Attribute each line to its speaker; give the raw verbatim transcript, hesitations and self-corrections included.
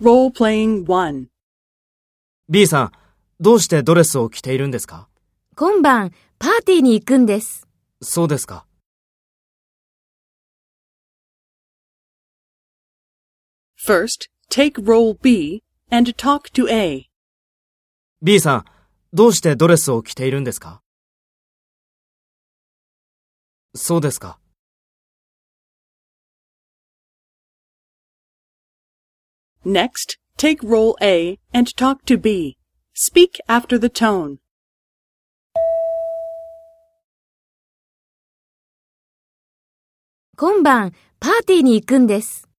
Speaker 1: Role-playing one.
Speaker 2: B さん、どうしてドレスを着ているんですか？
Speaker 3: 今晩、パーティーに行くんです。
Speaker 2: そうですか。
Speaker 1: First, take role B and talk to A.
Speaker 2: B さん、どうしてドレスを着ているんですか？そうですか。
Speaker 1: Next, take role A and talk to B. Speak after the tone.
Speaker 3: 今晩、パーティーに行くんです。